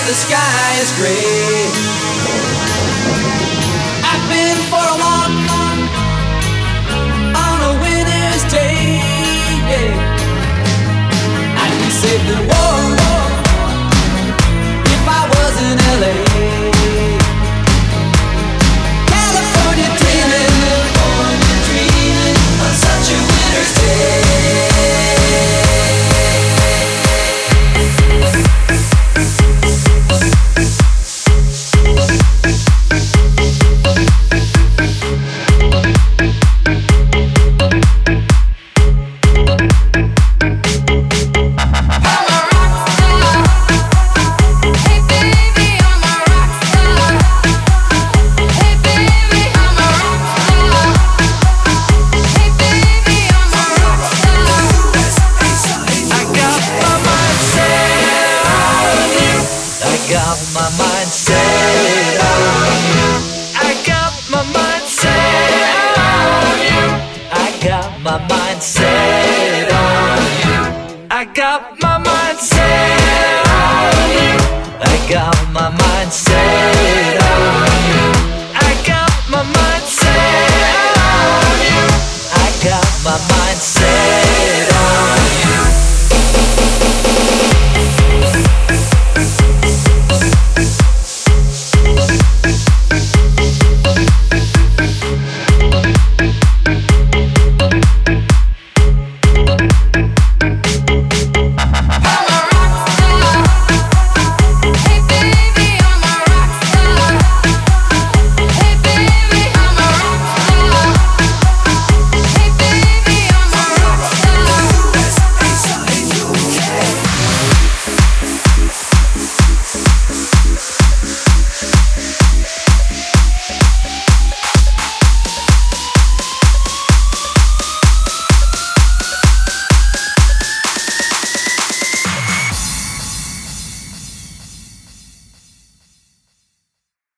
the sky is gray. I've been for a walk on a winter's day. Yeah. I'd be safe and warm if I was in LA. California dreaming on such a winter's day. Got my mind set on you. I got my mind set on you. I got my mind set on you. I got my mind set on you. I got my mind set on you. I got my mind set on you. I got my mind set